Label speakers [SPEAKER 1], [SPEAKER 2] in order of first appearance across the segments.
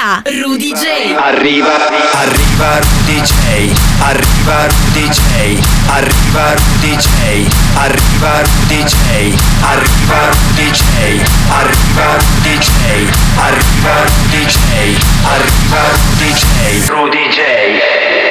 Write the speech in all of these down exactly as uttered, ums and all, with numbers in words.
[SPEAKER 1] da Rudy J.
[SPEAKER 2] Arriva, arriva Rudy J, arriva Rudy J, arriva Rudy J, arriva Rudy J, arriva Rudy J, arriva Rudy J, arriva Rudy J, arriva Rudy J, Rudy J.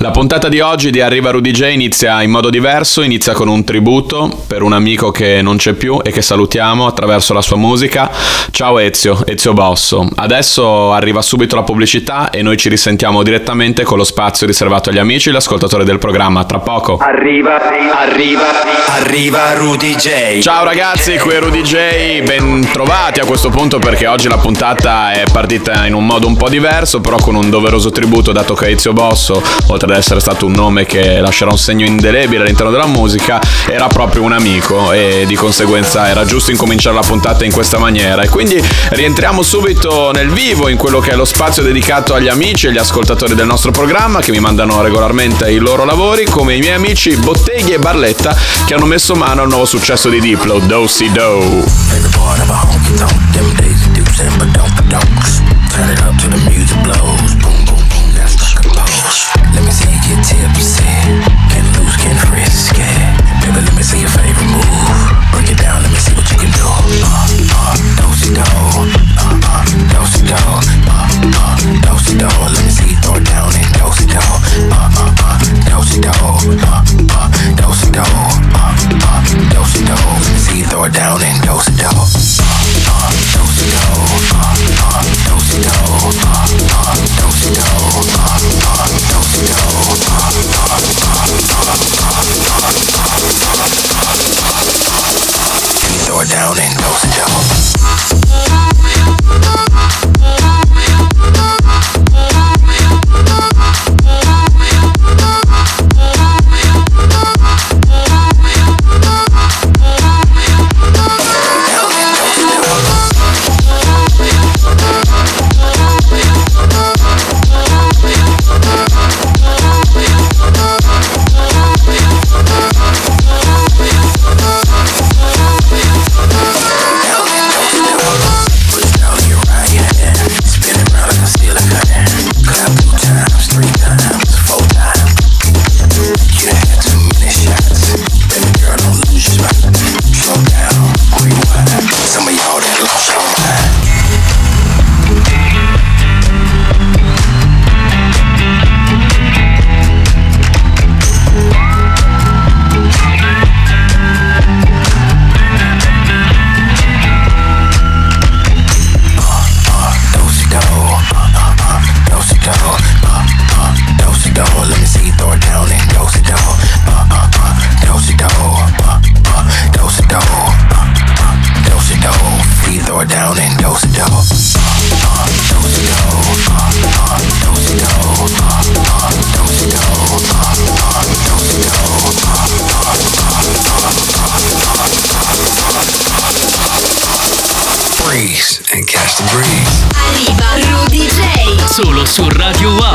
[SPEAKER 1] La puntata di oggi di Arriva Rudy J inizia in modo diverso, inizia con un tributo per un amico che non c'è più e che salutiamo attraverso la sua musica. Ciao Ezio, Ezio Bosso. Adesso arriva subito la pubblicità e noi ci risentiamo direttamente con lo spazio riservato agli amici e gli ascoltatori del programma. Tra poco.
[SPEAKER 2] Arriva, arriva, arriva Rudy J.
[SPEAKER 1] Ciao ragazzi, qui è Rudy J, ben trovati a questo punto perché oggi la puntata è partita in un modo un po' diverso, però con un doveroso tributo, dato che Ezio Bosso, oltre ad essere stato un nome che lascerà un segno indelebile all'interno della musica, era proprio un amico e di conseguenza era giusto incominciare la puntata in questa maniera. E quindi rientriamo subito nel vivo in quello che è lo spazio dedicato agli amici e agli ascoltatori del nostro programma che mi mandano regolarmente i loro lavori, come i miei amici Botteghi e Barletta, che hanno messo mano al nuovo successo di Diplo, Do Si Do. Let me see you get tipsy, can't lose, can't frisk it. Baby, let me see your favorite move. Break it down, let me see what you can do. Uh, uh, do-si-do, uh, uh, do-si-do, uh, uh, do-si-do. Let me see you throw it down and do-si-do, uh, uh, uh, do-si-do, uh, uh, do-si-do, uh, uh, do-si-do. Let me see you throw it down and do-si-do, uh, uh, do-si-do, uh, uh, do-si-do, uh, uh, do-si-do, uh, uh, do-si-do. Throw it down and dose it down.
[SPEAKER 3] And catch the breeze.
[SPEAKER 4] Arriva Rudy J.
[SPEAKER 5] Solo su Radio Wow.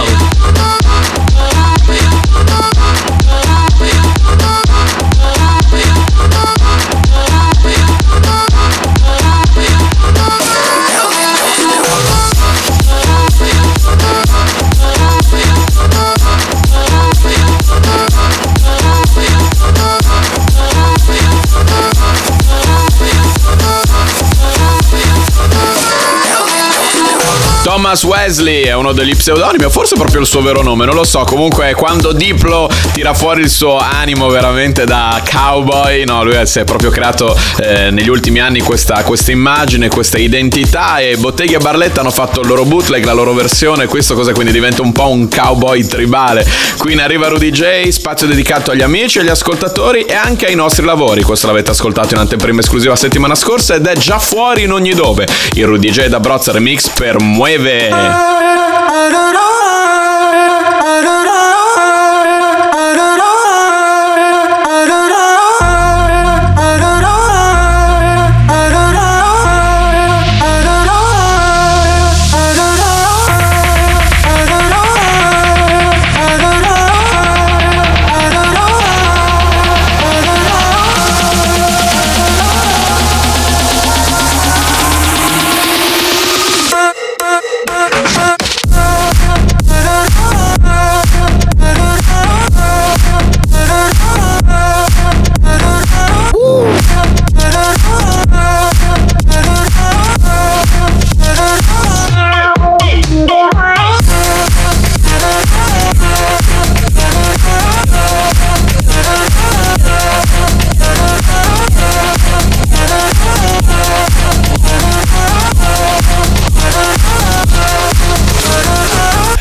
[SPEAKER 1] Thomas Wesley è uno degli pseudonimi, o forse proprio il suo vero nome, non lo so. Comunque quando Diplo tira fuori il suo animo veramente da cowboy, no, lui si è proprio creato eh, negli ultimi anni questa, questa immagine, questa identità, e Botteghi e Barletta hanno fatto il loro bootleg, la loro versione. Questo cosa quindi diventa un po' un cowboy tribale. Qui in Arriva Rudy J, spazio dedicato agli amici, agli ascoltatori e anche ai nostri lavori. Questo l'avete ascoltato in anteprima esclusiva settimana scorsa ed è già fuori in ogni dove. Il Rudy J da Brozza Remix per Mueve.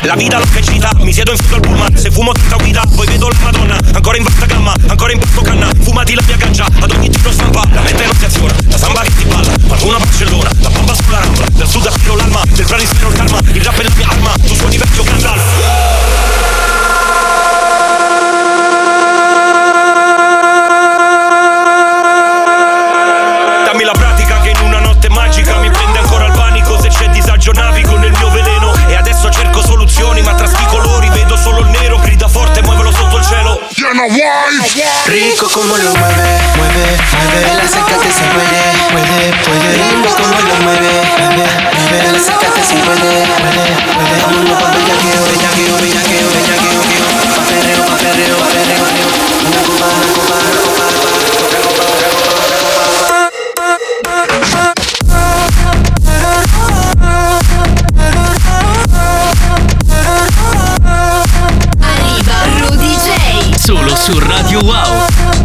[SPEAKER 5] La vita l'ho crescita, mi siedo in fondo al pullman. Se fumo tutta guida, poi vedo la Madonna. Ancora in vasta gamma, ancora in porto canna. Fumati la mia ganja, ad ogni giro stampa. La mente non si aziona, la samba che ti balla. Qualcuno a Barcellona, la bomba sulla rambla. Dal sud aspiro l'alma, del planisfero il karma. Il rap è la mia arma, tu suoni vecchio Gandalf. Dammi la pratica che in una notte magica mi prende ancora il panico. Se c'è disagio navigo nel mio veleno. E adesso cerco soluzioni, ma tra sti colori vedo solo il nero. Grida forte, muovelo sotto il cielo.
[SPEAKER 6] Rico como lo mueve, mueve, mueve. La sacate si puede, puede, puede. Rico como lo mueve, mueve, mueve. La sacate si puede, puede, puede. Vámonos pa' bellaqueo, bellaqueo, bellaqueo, bellaqueo, bellaqueo. Pa' perreo, pa' perreo, pa' perreo, perreo. Una copa, una copa, una copa, una copa, otra copa, otra copa, otra copa, otra copa.
[SPEAKER 4] Arriva Rudy J.
[SPEAKER 7] Solo su Radio Wow.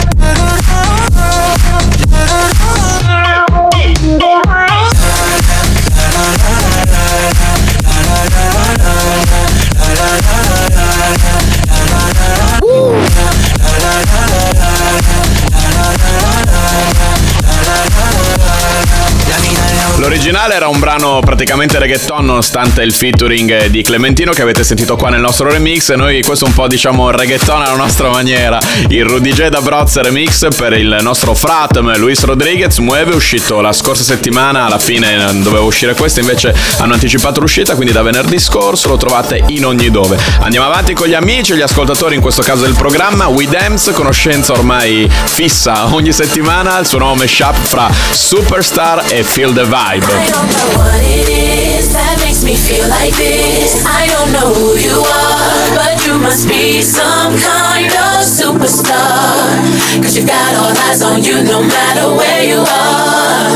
[SPEAKER 8] L'originale era un brano praticamente reggaeton, nonostante il featuring di Clementino che avete sentito qua nel nostro remix. E noi questo un po' diciamo reggaeton alla nostra maniera. Il Rudy J da Broz remix per il nostro fratm Luis Rodriguez. Mueve, è uscito la scorsa settimana, alla fine doveva uscire questo, invece hanno anticipato l'uscita, quindi da venerdì scorso lo trovate in ogni dove. Andiamo avanti con gli amici e gli ascoltatori, in questo caso del programma We Dance, conoscenza ormai fissa ogni settimana, il suo nuovo mashup fra Superstar e Feel the Vibe.
[SPEAKER 9] I don't know what it is that makes me feel like this. I don't know who you are, but you must be some kind of superstar. Cause you got all eyes on you no matter where you are.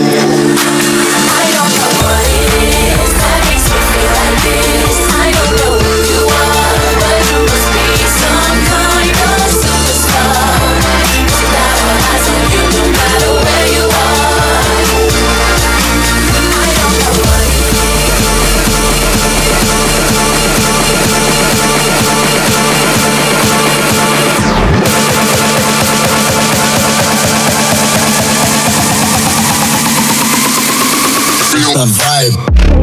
[SPEAKER 9] I don't know what it is that makes me feel like this. I don't know who you are, but you must be some kind of superstar. Cause you got all eyes on you no matter where you are.
[SPEAKER 3] Feel the vibe.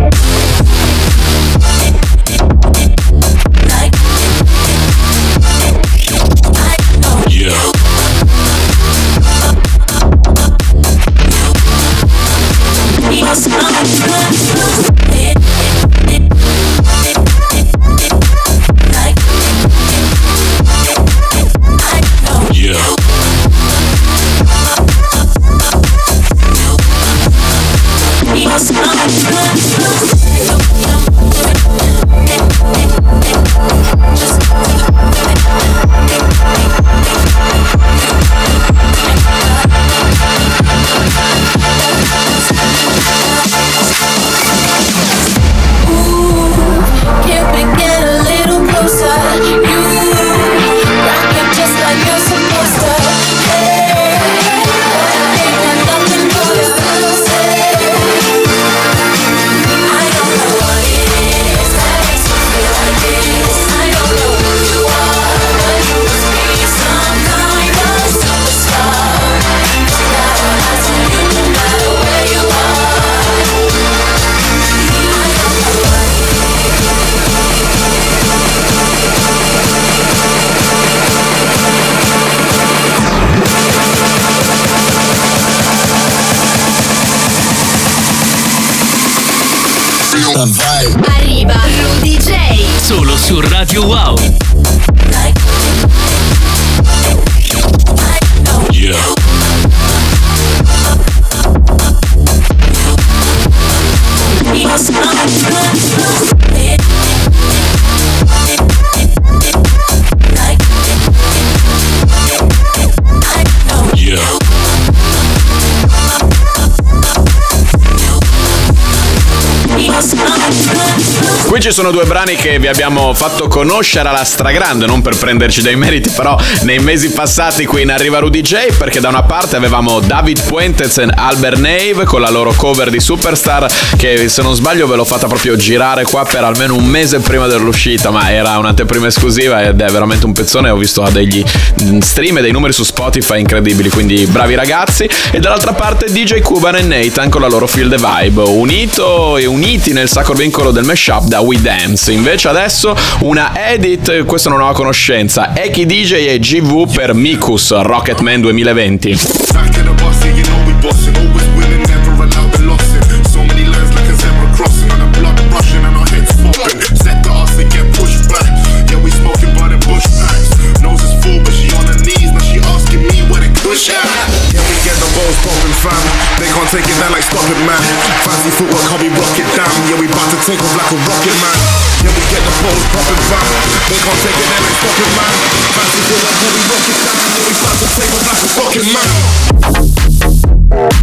[SPEAKER 4] Arriva Rudy J.
[SPEAKER 7] Solo su Radio Wow.
[SPEAKER 3] Yeah.
[SPEAKER 8] Qui ci sono due brani che vi abbiamo fatto conoscere alla stragrande, non per prenderci dei meriti, però nei mesi passati qui in Arriva Rudy J, perché da una parte avevamo David Puentes e Albert Nave con la loro cover di Superstar, che se non sbaglio ve l'ho fatta proprio girare qua per almeno un mese prima dell'uscita, ma era un'anteprima esclusiva ed è veramente un pezzone. Ho visto degli stream e dei numeri su Spotify incredibili, quindi bravi ragazzi. E dall'altra parte D J Cuban e Nathan con la loro Feel the Vibe, unito e uniti nel sacro vincolo del mashup da We Dance. Invece adesso una edit, questa è una nuova conoscenza, Eki D J e G V per Mikus, Rocketman duemilaventi.
[SPEAKER 3] They can't take it down like stop it, man. Fancy footwork, how we rock it down. Yeah, we bout to take off like a rocket, man. Yeah, we get the balls popping, fam. They can't take it down like stop it, man. Fancy footwork, how we rock it down. Yeah, we bout to take off like a rocket, man.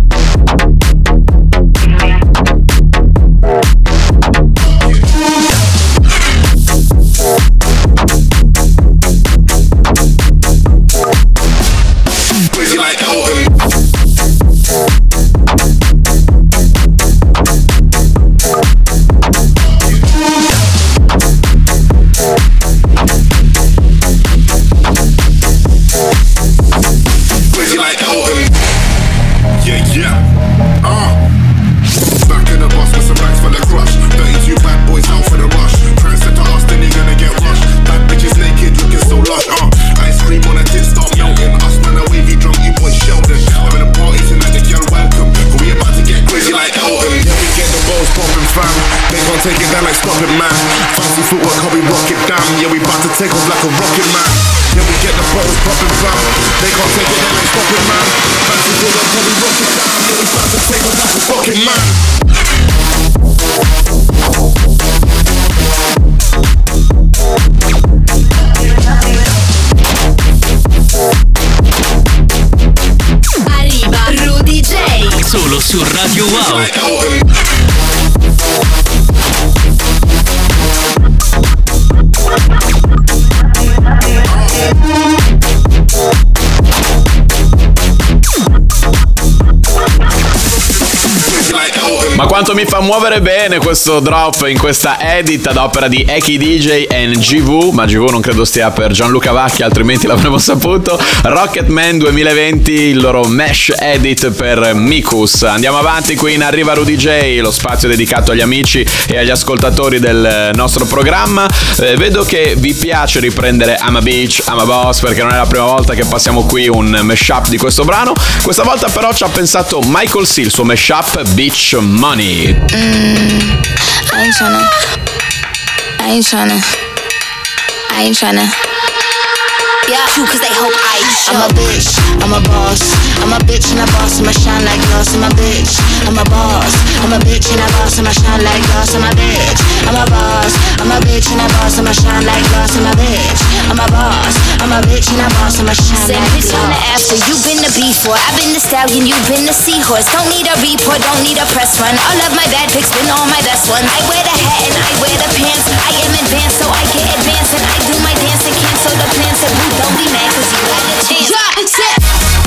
[SPEAKER 3] Crazy like Elton. Take it down like stop it, man. Fancy footwork, how we rock it down. Yeah, we bout to take off like a rocket, man. Yeah, we get the balls popping, fam. They can't take it down like stop it, man. Fancy footwork, how we rock it down. Yeah, we bout to take off like a rocket, man.
[SPEAKER 4] Arriva Rudy J.
[SPEAKER 7] Solo su Radio Wow.
[SPEAKER 8] Ma quanto mi fa muovere bene questo drop in questa edit ad opera di Eki D J e G V, ma G V non credo stia per Gianluca Vacchi, altrimenti l'avremmo saputo. Rocketman duemilaventi, il loro mesh edit per Mikus. Andiamo avanti qui in Arriva Rudy J, lo spazio dedicato agli amici e agli ascoltatori del nostro programma. Eh, vedo che vi piace riprendere I'm a Bitch, I'm a Boss, perché non è la prima volta che passiamo qui un mashup di questo brano. Questa volta però ci ha pensato Michael C, il suo mashup Bitch Money.
[SPEAKER 10] Mm, I ain't tryna, I ain't tryna, I ain't tryna. Yeah, true, cause they hope I show. I'm a bitch, I'm a boss. I'm a bitch and a boss, I'ma shine like glass. I'm a bitch, I'm a boss. I'm a bitch and a boss, I'ma shine like glass. I'm a bitch, I'm a boss. I'm a bitch and a boss, I'ma shine like glass. I'm a bitch, I'm a boss. I'm a bitch and a boss, I'ma shine like glass.
[SPEAKER 4] Send bitch on the after, you've been the B four. I've been the stallion, you've been the seahorse. Don't need a report, don't need a press run. All of my bad pics been all my best ones. I wear the hat and I wear the pants. I am advanced, so I get advanced. And I do my dance and cancel the plans. So boo, don't be mad, cause you had a chance. Yeah, it's it.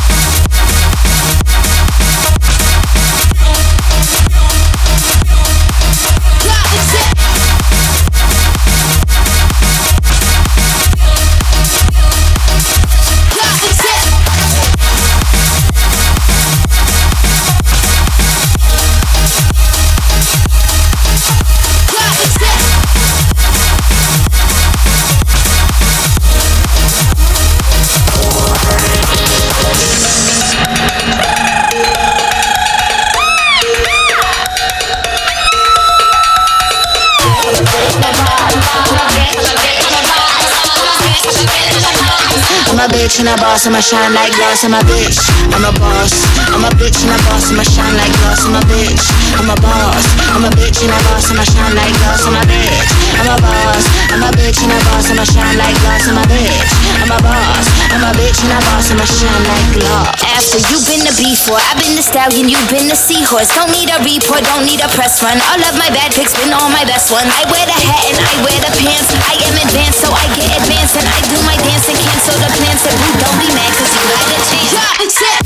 [SPEAKER 10] I'm a bitch and a boss, I'ma shine like glass. I'm a bitch, I'm a boss. I'm a bitch and a boss, I'ma shine like glass. I'm a bitch, I'm a boss. I'm a bitch and a boss, I'ma shine like glass. I'm a bitch, I'm I'm a boss, I'm a bitch and a boss, I'ma shine like glass. I'm a bitch, I'm a boss, I'm a bitch and a boss, I'ma shine like glass. After you've been the B four, I've been the stallion, you've been the seahorse. Don't need a report, don't need a press run. All of my bad pics been all my best ones. I wear the hat and I wear the pants. I am advanced, so I get advanced, and I do my dance and cancel the plans. If you don't be mad, cause you had a chance. Yeah, sit.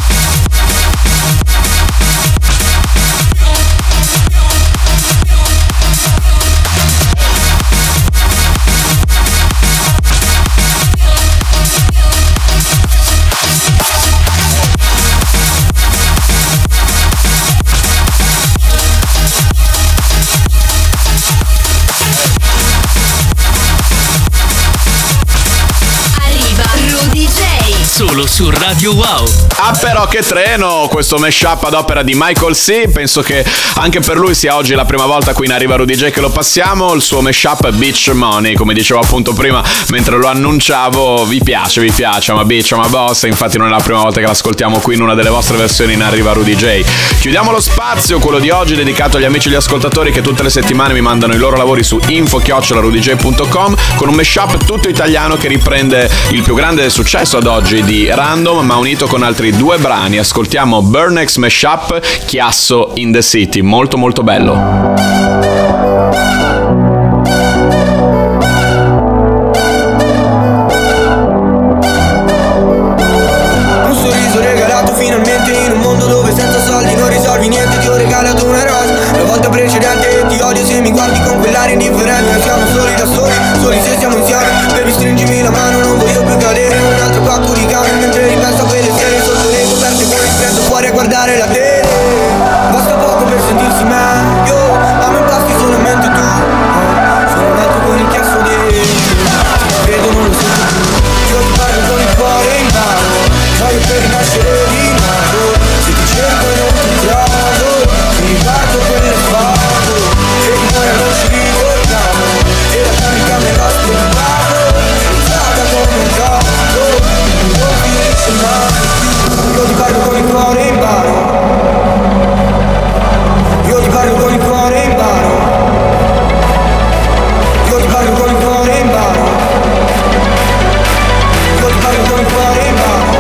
[SPEAKER 7] Solo su Radio Wow.
[SPEAKER 8] Ah però che treno, questo mashup ad opera di Michael C. Penso che anche per lui sia oggi la prima volta qui in Arriva Rudy J che lo passiamo. Il suo mashup Beach Money, come dicevo appunto prima mentre lo annunciavo. Vi piace, vi piace, ma Beach, ma Boss. Infatti non è la prima volta che l'ascoltiamo qui in una delle vostre versioni in Arriva Rudy J. Chiudiamo lo spazio, quello di oggi dedicato agli amici e agli ascoltatori che tutte le settimane mi mandano i loro lavori su info chiocciola rudy j punto com con un mashup tutto italiano che riprende il più grande successo ad oggi di Random, ma unito con altri due brani. Ascoltiamo Burnex Mashup, Chiasso in the City, molto molto bello.
[SPEAKER 11] Un sorriso regalato finalmente in un mondo dove senza soldi non risolvi niente. Ti ho regalato una rosa la volta precedente e ti odio se mi guardi con quell'aria indifferente. Noi siamo soli da soli, soli se siamo insieme. Baby stringimi la mano, non voglio più cadere in un altro pacco di camion. Mentre ripenso a quelle sere sotto le coperte con il freddo fuori a guardare la tele. Basta poco per sentirsi meglio, a me basti solamente tu. Sono nato con il chiasso dentro, vedo non lo sento più. Io ti parlo con il cuore in mano, voglio per rinascere di nuovo. Se ti cerco e non ti trovo, mi riparto quelle foto che di noi non ci ricordiamo. E la camica me l'ha spiegato, usata come un gioco, non finisce mai più. Io ti parlo con il cuore in mano, io ti parlo con il cuore in mano, io ti parlo con il cuore in mano, io ti parlo con il cuore in mano.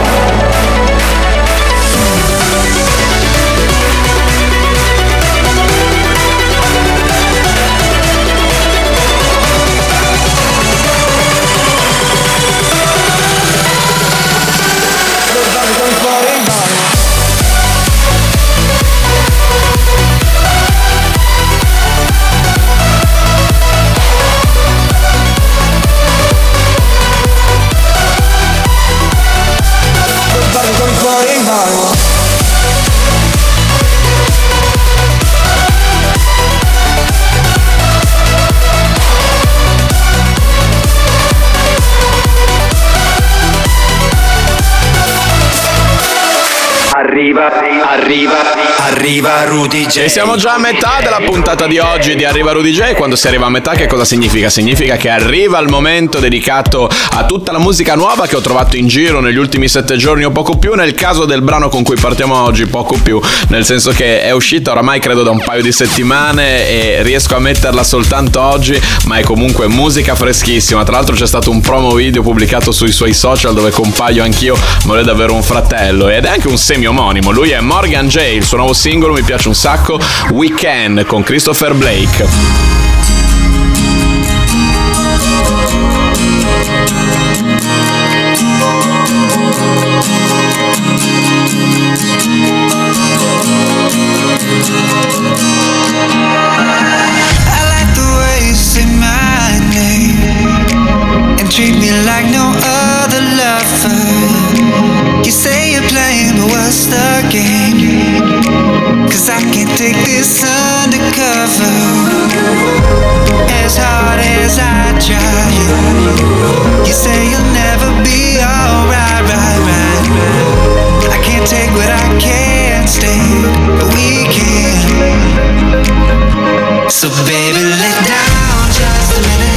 [SPEAKER 2] Arriva, arriva, arriva Rudy J.
[SPEAKER 8] E siamo già a metà della puntata di oggi di Arriva Rudy J. Quando si arriva a metà che cosa significa? Significa che arriva il momento dedicato a tutta la musica nuova che ho trovato in giro negli ultimi sette giorni o poco più. Nel caso del brano con cui partiamo oggi, poco più, nel senso che è uscita oramai credo da un paio di settimane e riesco a metterla soltanto oggi, ma è comunque musica freschissima. Tra l'altro c'è stato un promo video pubblicato sui suoi social dove compaio anch'io, ma lui è davvero un fratello ed è anche un semi omonimo. Lui è Morgan J, il suo nuovo singolo mi piace un sacco, We Can, con Christopher Blake.
[SPEAKER 12] Treat me like no other lover. You say you're playing, but what's the game? Cause I can't take this undercover. As hard as I try, you say you'll never be alright, right, right. I can't take what I can't stand, but we can. So baby, let down just a minute.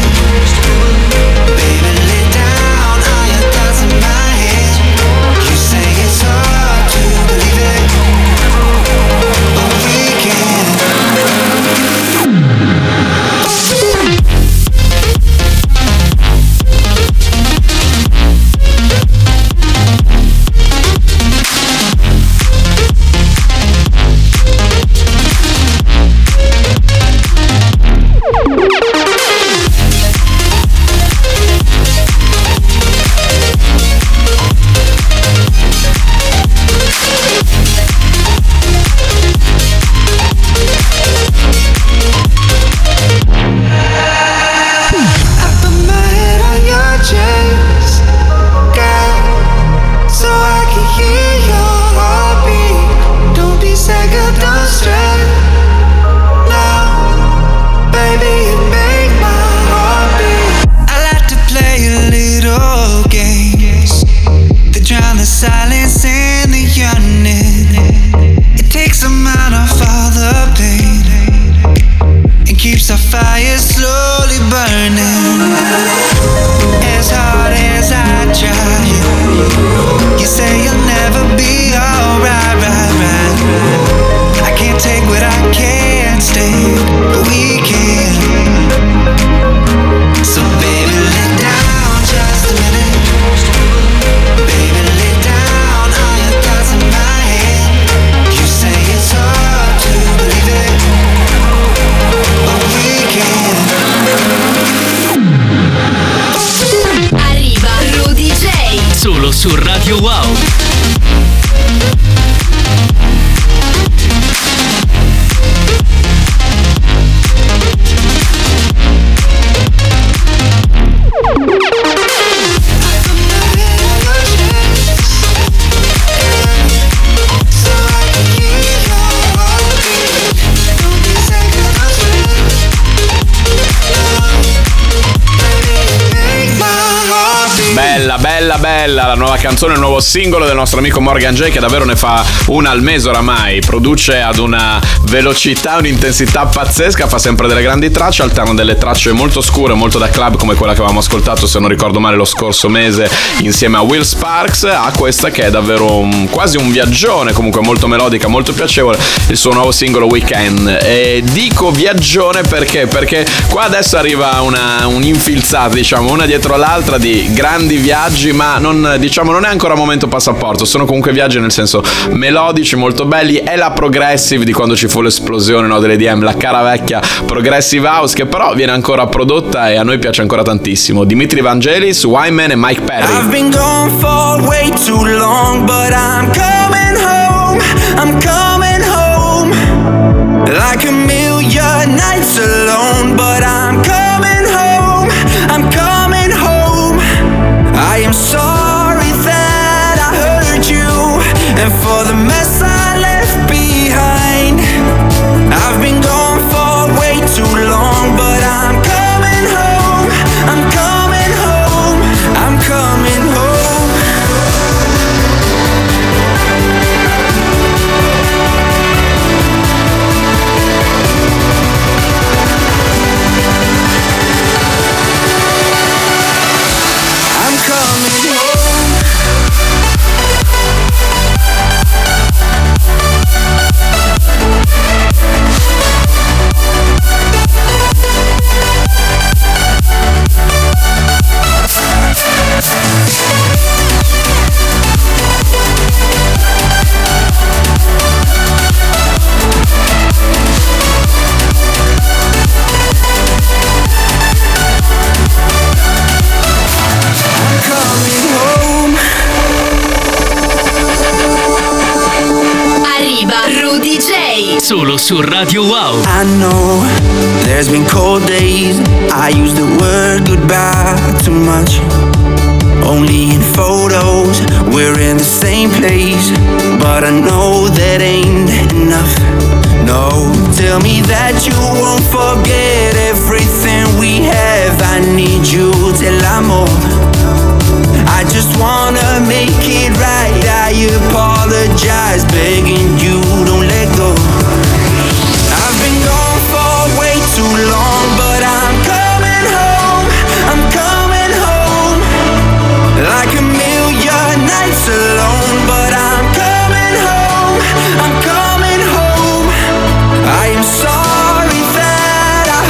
[SPEAKER 12] turn off all the pain and keeps the fire slowly burning. As hard as I try, you say you'll never be alright, right, right. I can't take what I can't stand, but we can. So baby, lay down just a minute. Baby, lay down all your thoughts in my head. You say it's hard to believe it, but we can.
[SPEAKER 9] Arriva Rudy J.
[SPEAKER 7] Solo su Radio Wow.
[SPEAKER 8] Bella, bella, bella la nuova canzone, il nuovo singolo del nostro amico Morgan J, che davvero ne fa una al mese oramai. Produce ad una velocità, un'intensità pazzesca, fa sempre delle grandi tracce, alterna delle tracce molto scure, molto da club, come quella che avevamo ascoltato, se non ricordo male, lo scorso mese insieme a Will Sparks, a questa che è davvero un, quasi un viaggione, comunque molto melodica, molto piacevole, il suo nuovo singolo Weekend. E dico viaggione perché? Perché qua adesso arriva una, un'infilzata, diciamo, una dietro l'altra di grandi viaggi, ma non, diciamo, non è ancora momento passaporto, sono comunque viaggi nel senso melodici, molto belli. È la progressive di quando ci fu l'esplosione, no, delle D M, la cara vecchia progressive house, che però viene ancora prodotta e a noi piace ancora tantissimo. Dimitri Vangelis, Wyman e Mike Perry.
[SPEAKER 13] I've been gone for way too long, but I'm coming home, I'm coming home. Like a million nights alone, but I'm coming home, I'm coming home. I am sorry that I hurt you, and for the mess I left behind. I've been gone for way too long, but I'm coming home, I'm coming home, I'm coming home. I'm coming home.
[SPEAKER 9] Arriva Rudy J.
[SPEAKER 7] Solo su Radio Wow.
[SPEAKER 13] I know there's been cold days. I use the word goodbye too much. Only in photos, we're in the same place. But I know that ain't enough. No, tell me that you won't forget everything we have. I need you till I'm old. I just wanna make it right. I apologize, begging you, don't let go. I've been gone for way too long, but I'm coming home, I'm coming home. Like a million nights alone, but I'm coming home, I'm coming home. I am sorry that I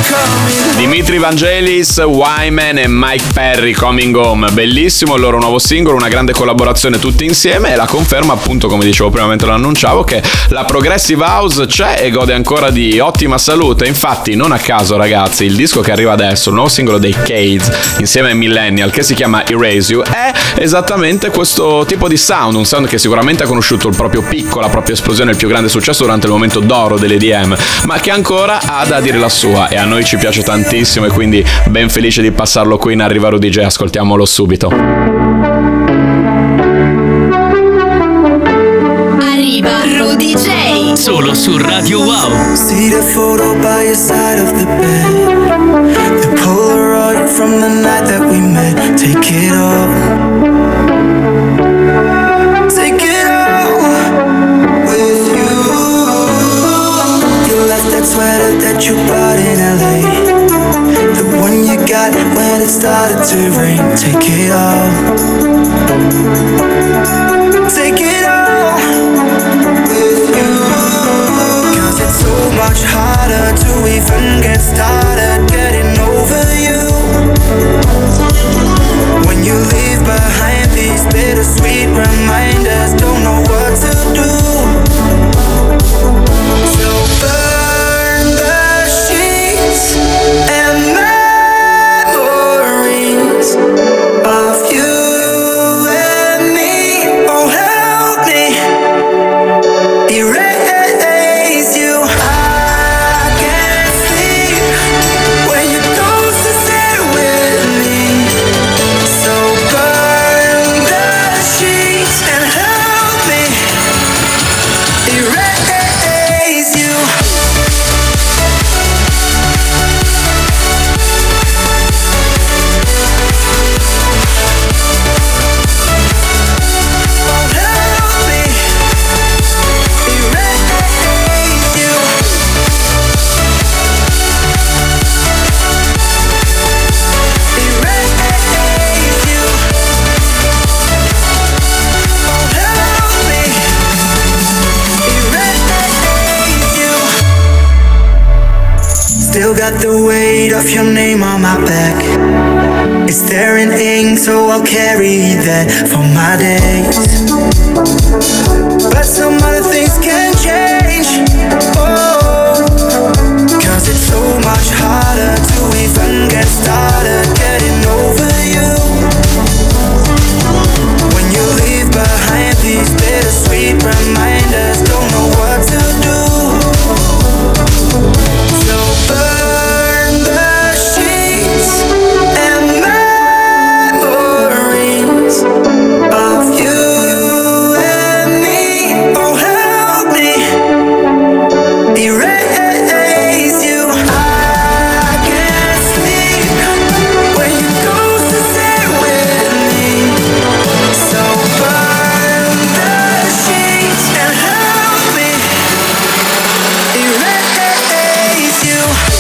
[SPEAKER 8] Dimitri Vangelis, Wyman e Mike Perry, Coming Home. Bellissimo il loro nuovo singolo, una grande collaborazione tutti insieme e la conferma, appunto, come dicevo prima mentre lo annunciavo, che la Progressive House c'è e gode ancora di ottima salute. Infatti, non a caso, ragazzi, il disco che arriva adesso, il nuovo singolo dei Cades insieme ai Millennial, che si chiama Erase You, è esattamente questo tipo di sound, un sound che sicuramente ha conosciuto il proprio picco, la propria esplosione, il più grande successo durante il momento d'oro dell'E D M, ma che ancora ha da dire la sua e a noi ci piace tantissimo e quindi ben felice di passarlo qui in Arriva Rudy J. Ascoltiamolo subito.
[SPEAKER 4] Arriva Rudy J.
[SPEAKER 7] Solo su Radio Wow.
[SPEAKER 6] See the photo by your side of the bed, the Polaroid from the night that we met. Take it all, take it all with you. You left that sweater that you bought in L A, the one you got when it started to rain. Take it all, take it all with you. Cause it's so much harder to even get started getting over you when you leave behind these bittersweet reminders. Don't know what to do. So burn the sheets and memories of you and me. Oh, help me erase you. I can't sleep when you're close to stay with me. So burn the sheets and help me erase you. Still got the weight of your name on my back. It's there in ink, so I'll carry that for my days. But some other things can change. Oh, cause it's so much harder to even get started getting over you when you leave behind these bittersweet reminders. Don't know what to do. So burn the sheets and memories of you and me. Oh, help me erase you. I can't sleep when you go to stay with me. So burn the sheets and help me erase you.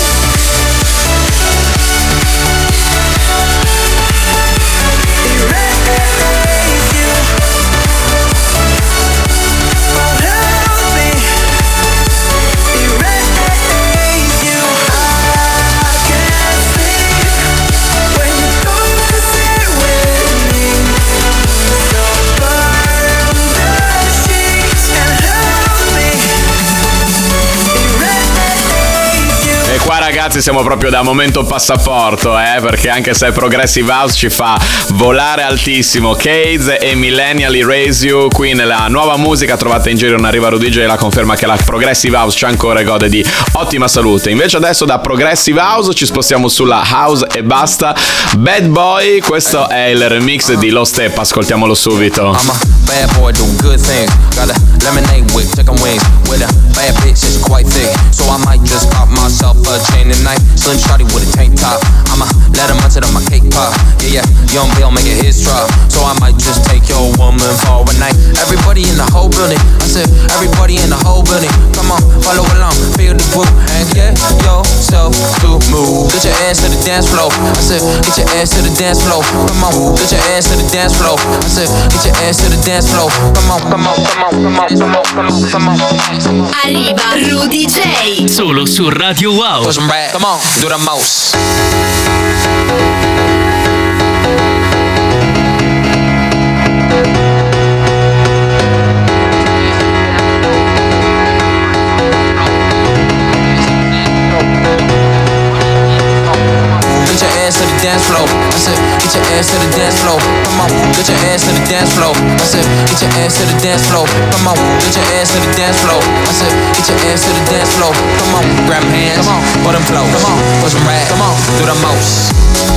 [SPEAKER 8] Qua ragazzi siamo proprio da momento passaporto, eh, perché anche se Progressive House ci fa volare altissimo. Cades e Millennial Erase You qui nella nuova musica trovate in giro in Arriva Rudy J, la conferma che la Progressive House c'è ancora e gode di ottima salute. Invece adesso da Progressive House ci spostiamo sulla House e basta. Bad Boy, questo è il remix di Low Step, ascoltiamolo subito.
[SPEAKER 14] I'm a bad boy, do good things. Got a lemonade with chicken wings. With a bad bitch, it's quite thick. So I might just pop myself a chain tonight. Slim shawty with a tank top. I'ma let him munch it on my cake pop. Yeah, yeah, young Bill making his drop. So I might just take your woman for a night. Everybody in the whole building. I said, everybody in the whole building. Come on, follow along, feel the groove. And get yourself to move. Get your ass to the dance floor. I said, get your ass to the dance floor. Come on, get your ass to the dance floor. I said, get your ass to the dance floor. Come on, come on, come on, come on, come on, come on, come on.
[SPEAKER 7] Arriva Rudy J. Solo su Radio Wow.
[SPEAKER 14] Push 'em back. Come on, do the most. Dance floor. I said, get your ass to the dance floor. Come on, get your ass to the dance floor. I said, get your ass to the dance floor. Come on, get your ass to the dance floor. I said, get your ass to the dance floor. Come on, grab them hands, come on, put them close. Come on, push them right, come on, do the most.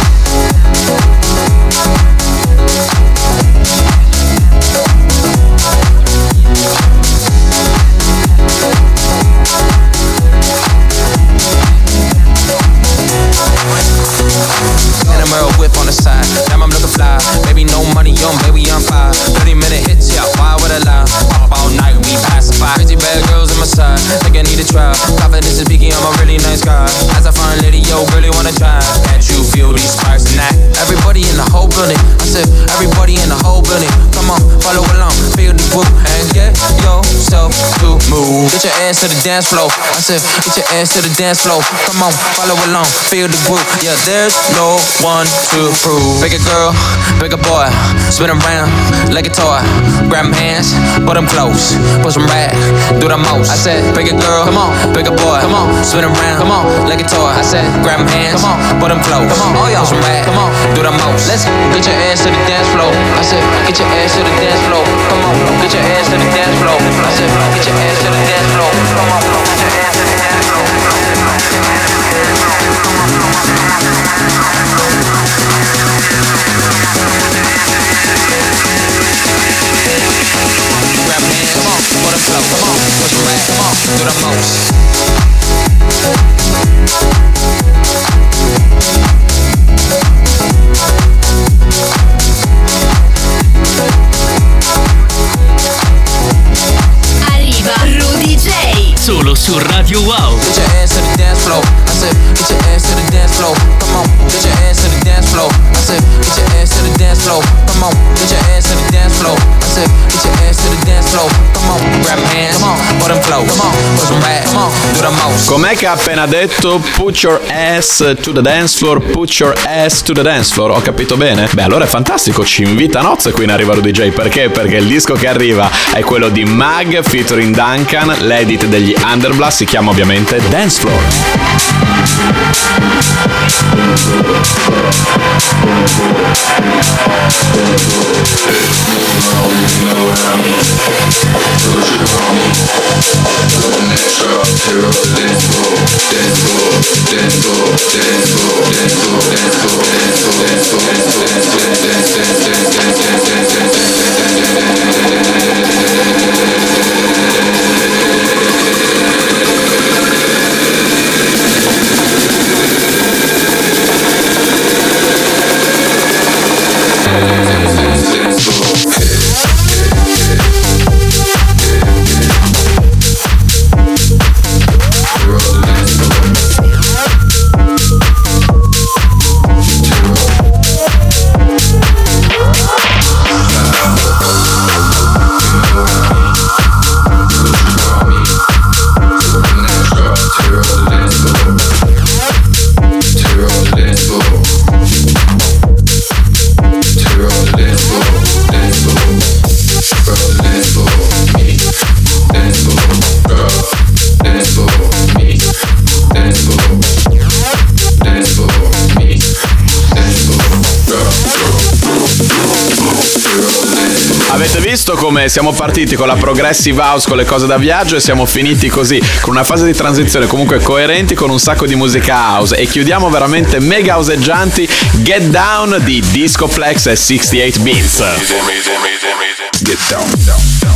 [SPEAKER 14] Whip on the side, damn I'm looking fly. Baby, no money on, baby, I'm fine. thirty minute hits, yeah, why would I lie? Pop all night, we pacify. Crazy bad girls on my side, think I need a try. Confidence is peaking, I'm a really nice guy. As I find lady, yo, really wanna try. Can't you feel these sparks tonight? Everybody in the whole building, I said, everybody in the whole building. Come on, follow along, feel the whoop, and get yourself to move. Get your ass to the dance floor. I said, get your ass to the dance floor. Come on, follow along, feel the group. Yeah, there's no one to prove. Bigger girl, bigger boy, spin around like a toy. Grab them hands, put them close, push them right, do the most. I said, bigger girl, come on, bigger boy, come on, spin around, come on, like a toy. I said, grab them hands, come on, put them close, come on, oh yeah, push them right, come on, do the most. Let's get your ass to the dance floor. I said, get your ass to the dance floor. Come on, get your ass to the dance floor. I said, get your ass to the dance floor. Come on, get your ass to the dance floor. Grab hands, come on, put them flow, come on, push them right, come on, do the most.
[SPEAKER 7] Arriva Rudy J. Solo su Radio Wow.
[SPEAKER 14] Get your ass to the dance floor. I said, get your ass to the dance floor. Come on, get your ass to the dance floor. I said, get your ass to the dance floor. Come on, get your ass to the dance floor. I said, get your ass to the dance floor. Come on, grab them hands, come on, put them close. Come on, push them right, come on, do the most.
[SPEAKER 8] Com'è che ha appena detto put your ass to the dance floor, put your ass to the dance floor? Ho capito bene? Beh, allora è fantastico, ci invita a nozze qui in Arriva Rudy J. Perché? Perché il disco che arriva è quello di Mag featuring Duncan, l'edit degli Underblast si chiama ovviamente Dance Floor. Avete visto come siamo partiti con la progressive house, con le cose da viaggio, e siamo finiti così, con una fase di transizione comunque coerenti, con un sacco di musica house, e chiudiamo veramente mega houseggianti. Get Down di Discoplex e sessantotto Beats. Get down, down, down.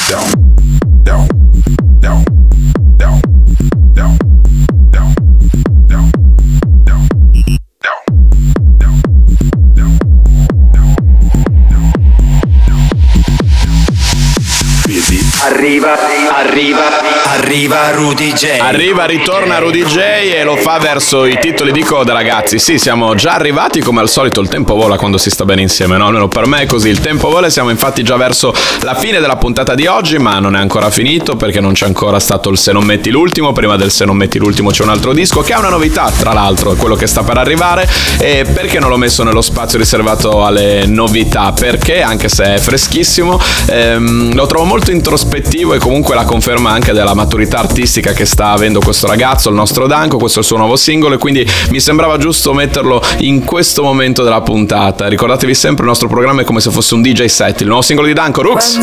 [SPEAKER 2] Arriva, arriva, arriva Rudy J.
[SPEAKER 8] Arriva, ritorna Rudy J e lo fa verso i titoli di coda, ragazzi. Sì, siamo già arrivati, come al solito il tempo vola quando si sta bene insieme, no? Almeno per me è così, il tempo vola e siamo infatti già verso la fine della puntata di oggi, ma non è ancora finito perché non c'è ancora stato il Se non metti l'ultimo. Prima del Se non metti l'ultimo c'è un altro disco che ha una novità, tra l'altro, è quello che sta per arrivare. E perché non l'ho messo nello spazio riservato alle novità? Perché, anche se è freschissimo, ehm, lo trovo molto introspettivo e comunque la conferma anche della maturità artistica che sta avendo questo ragazzo, il nostro Danko. Questo è il suo nuovo singolo e quindi mi sembrava giusto metterlo in questo momento della puntata. Ricordatevi sempre, il nostro programma è come se fosse un D J set. Il nuovo singolo di Danko, Rooks.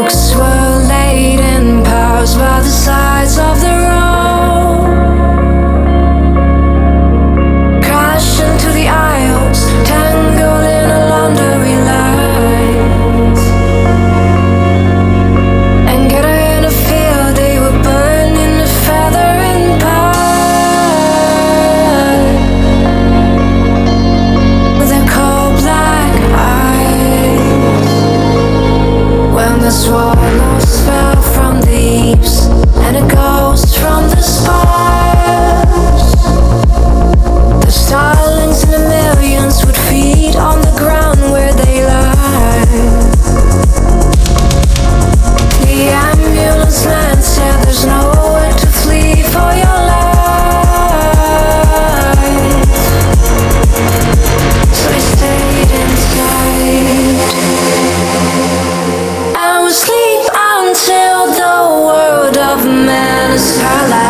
[SPEAKER 9] The swallows fell from the eaves, and a ghost from the spires. The starlings in the millions would feed on the ground where they lie. The ambulance man said there's nowhere to flee for your life, so I stayed inside. Sleep until the world of man is paralyzed.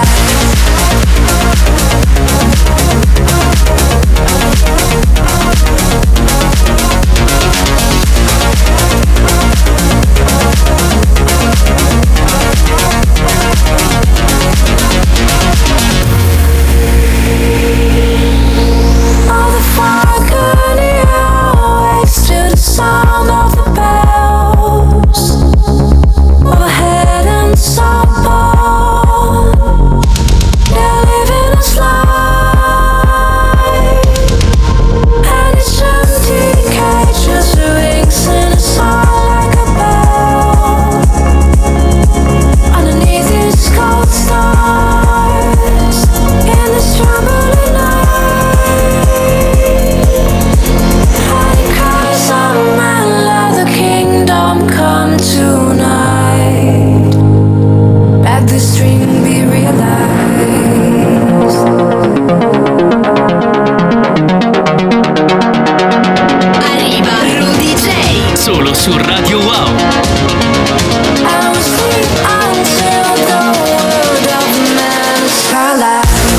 [SPEAKER 9] All the fog on the airways to the sound of the bells overhead and softball. They're living a slide, and it's empty cages rings in a song like a bell. Underneath these cold stars, in this trembling night, high cries of man, let the kingdom come tonight. Let this dream be realized.
[SPEAKER 7] Arriva Rudy J. Solo su Radio Wow.
[SPEAKER 9] I will sleep until the world of man is paralyzed.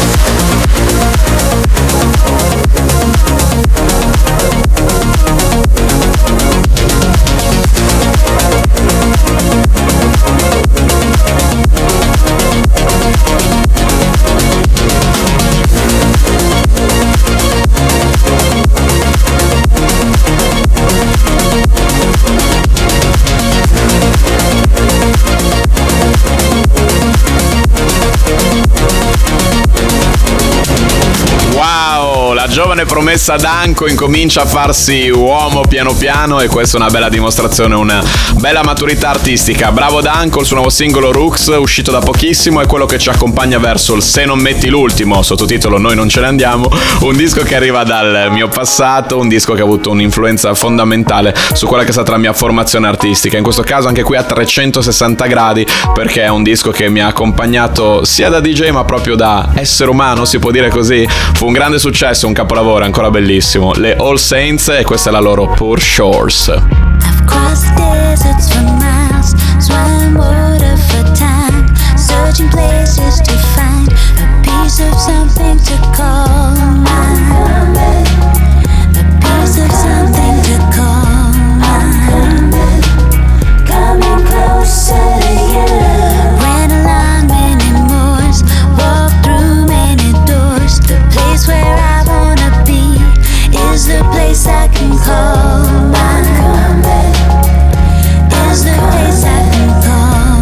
[SPEAKER 8] Wow, la giovane promessa Danko incomincia a farsi uomo piano piano e questa è una bella dimostrazione, una bella maturità artistica. Bravo Danko, il suo nuovo singolo Rooks, uscito da pochissimo, è quello che ci accompagna verso il Se non metti l'ultimo, sottotitolo Noi non ce ne andiamo, un disco che arriva dal mio passato, un disco che ha avuto un'influenza fondamentale su quella che è stata la mia formazione artistica, in questo caso anche qui a trecentosessanta gradi, perché è un disco che mi ha accompagnato sia da D J ma proprio da essere umano, si può dire così. Fu un grande successo, un capolavoro ancora bellissimo. Le All Saints e questa è la loro Poor Shores.
[SPEAKER 15] I've crossed deserts for miles, swam water for time, searching places to find a piece of something to call mine. A piece of something to call mine. Coming closer to you. Ran along many moors, walked through many doors. The place where I wanna be is the place I can call mine. Is the place I can call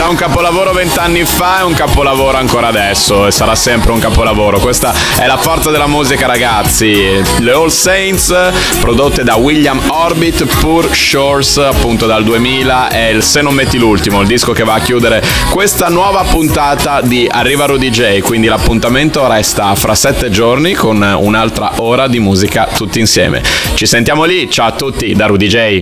[SPEAKER 8] un capolavoro vent'anni fa, è un capolavoro ancora adesso e sarà sempre un capolavoro. Questa è la forza della musica, ragazzi. Le All Saints, prodotte da William Orbit, Poor Shores, appunto dal duemila, è il Se non metti l'ultimo, il disco che va a chiudere questa nuova puntata di Arriva Rudy J. Quindi l'appuntamento resta fra sette giorni con un'altra ora di musica tutti insieme. Ci sentiamo lì, ciao a tutti da Rudy J.